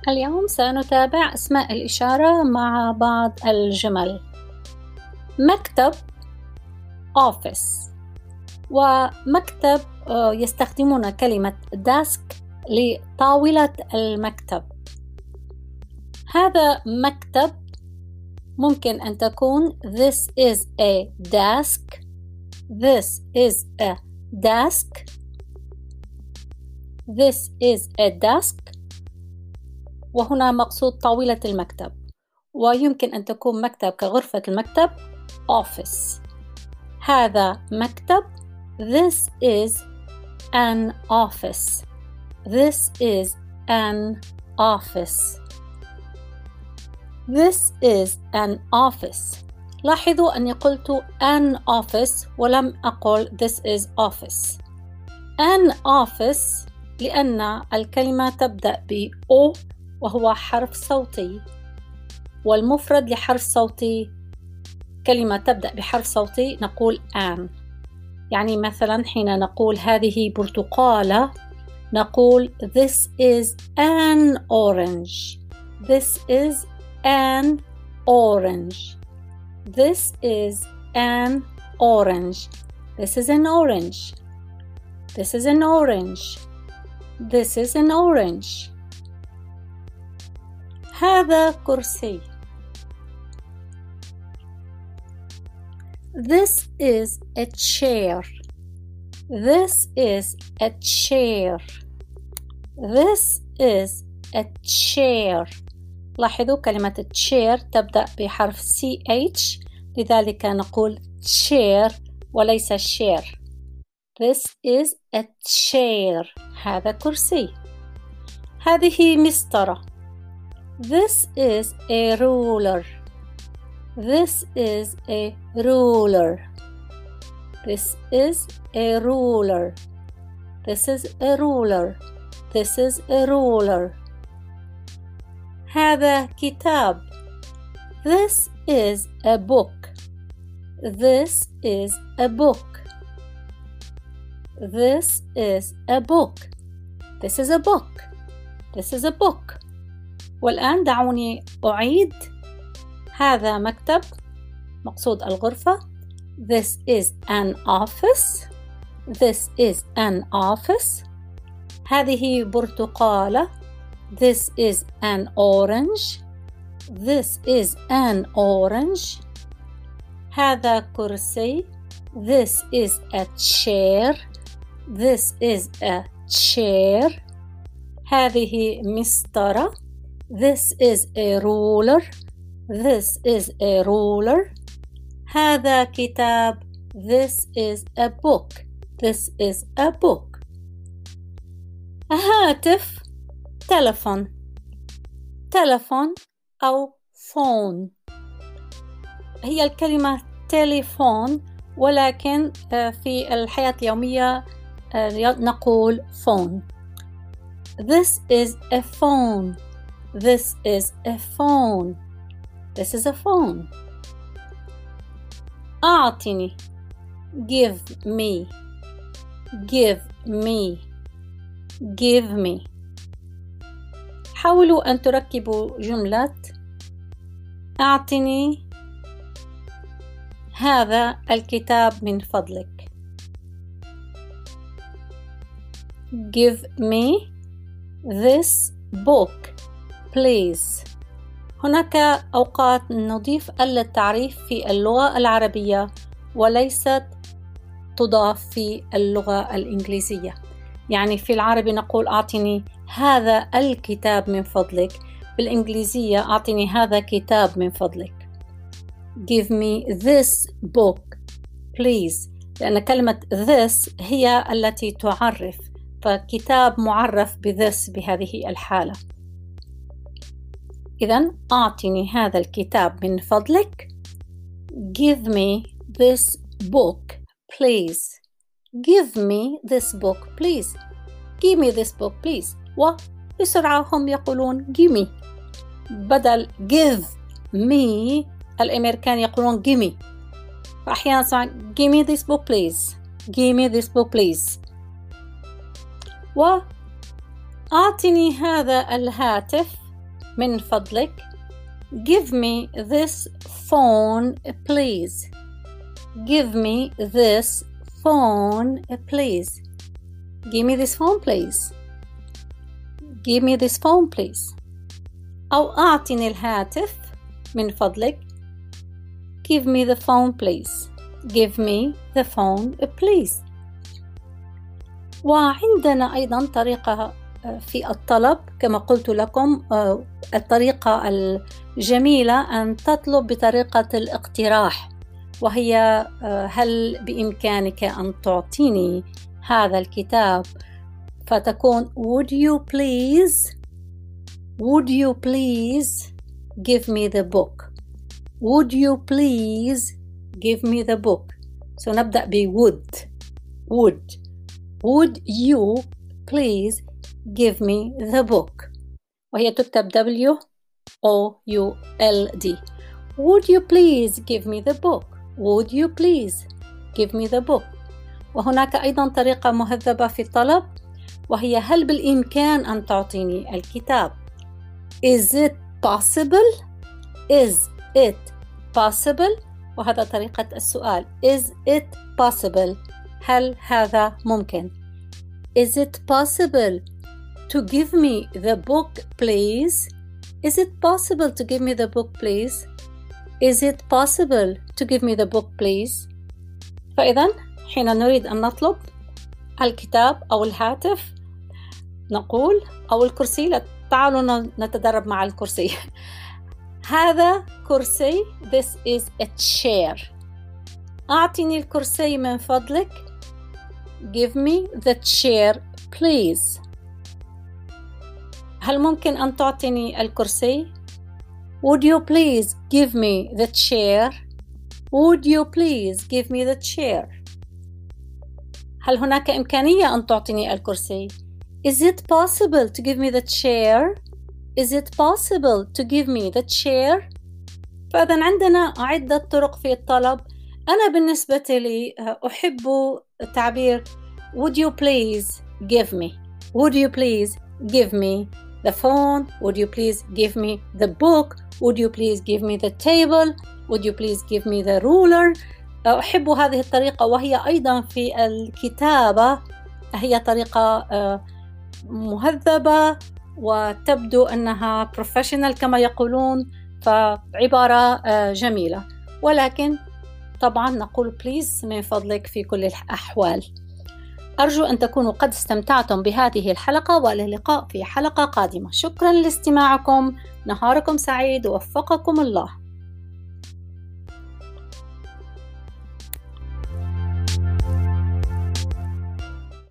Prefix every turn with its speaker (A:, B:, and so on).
A: اليوم سنتابع أسماء الإشارة مع بعض الجمل. مكتب office، ومكتب يستخدمون كلمة desk لطاولة المكتب. هذا مكتب ممكن أن تكون this is a desk، this is a desk، this is a desk، وهنا مقصود طاولة المكتب. ويمكن أن تكون مكتب كغرفة المكتب office. هذا مكتب this is an office، this is an office، this is an office. لاحظوا أني قلت an office ولم أقل this is office. an office لأن الكلمة تبدأ ب O وهو حرف صوتي، والمفرد لحرف صوتي كلمة تبدأ بحرف صوتي نقول an. يعني مثلا حين نقول هذه برتقالة نقول this is an orange، this is an orange، this is an orange، this is an orange، this is an orange، this is an orange. هذا كرسي. This is a chair، this is a chair، this is a chair. لاحظوا كلمة chair تبدأ بحرف CH، لذلك نقول chair وليس share. This is a chair، هذا كرسي. هذه مسطرة. This is a ruler، this is a ruler، this is a ruler، this is a ruler، this is a ruler. هذا كتاب. This is a book، this is a book، this is a book، this is a book، this is a book. والآن دعوني أعيد. هذا مكتب مقصود الغرفة. This is an office، this is an office. هذه برتقالة. This is an orange، this is an orange. هذا كرسي. This is a chair، this is a chair. هذه مسطرة. This is a ruler، this is a ruler. هذا كتاب. This is a book، this is a book. هاتف تلفون، تلفون أو phone. هي الكلمة تليفون ولكن في الحياة اليومية نقول phone. This is a phone، this is a phone، this is a phone. أعطني give me، give me، give me. حاولوا أن تركبوا جملة أعطني هذا الكتاب من فضلك. Give me this book please. هناك أوقات نضيف التعريف في اللغة العربية وليست تضاف في اللغة الإنجليزية. يعني في العربي نقول أعطني هذا الكتاب من فضلك، بالإنجليزية أعطني هذا كتاب من فضلك. Give me this book please، لأن كلمة this هي التي تعرف، فكتاب معرف بthis بهذه الحالة. إذن أعطني هذا الكتاب من فضلك. Give me this book please، give me this book please، give me this book please. وبسرعة هم يقولون give me بدل give me. الأمريكان يقولون give me، فأحيانا سمع give me this book please، give me this book please. وأعطني هذا الهاتف من فضلك give me this phone please. Give me this phone please. Give me this phone please. Give me this phone please. أو أعطني الهاتف من فضلك. Give me the phone please. Give me the phone please. وعندنا أيضا طريقة في الطلب كما قلت لكم، الطريقة الجميلة أن تطلب بطريقة الاقتراح، وهي هل بإمكانك أن تعطيني هذا الكتاب، فتكون would you please give me the book. Would you please give me the book. So نبدأ ب would you please give me the book، وهي تكتب WOULD. Would you please give me the book. Would you please give me the book. وهناك أيضا طريقة مهذبة في الطلب، وهي هل بالإمكان أن تعطيني الكتاب. Is it possible. Is it possible. وهذا طريقة السؤال. Is it possible. هل هذا ممكن. Is it possible to give me the book please. Is it possible to give me the book please. Is it possible to give me the book please. فإذا حين نريد أن نطلب الكتاب أو الهاتف نقول، أو الكرسي، تعالوا نتدرب مع الكرسي. هذا كرسي. This is a chair. أعطني الكرسي من فضلك. Give me the chair please. هل ممكن أن تعطيني الكرسي. Would you please give me the chair. Would you please give me the chair. هل هناك إمكانية أن تعطيني الكرسي. Is it possible to give me the chair. Is it possible to give me the chair. فإذا عندنا عدة طرق في الطلب. أنا بالنسبة لي أحب تعبير would you please give me. Would you please give me the phone. Would you please give me the book. Would you please give me the table. Would you please give me the ruler. أحب هذه الطريقة، وهي أيضا في الكتابة هي طريقة مهذبة وتبدو أنها professional كما يقولون، فعبارة جميلة. ولكن طبعا نقول please من فضلك في كل الأحوال. أرجو أن تكونوا قد استمتعتم بهذه الحلقة، وإلى اللقاء في حلقة قادمة. شكرا لاستماعكم. نهاركم سعيد ووفقكم الله.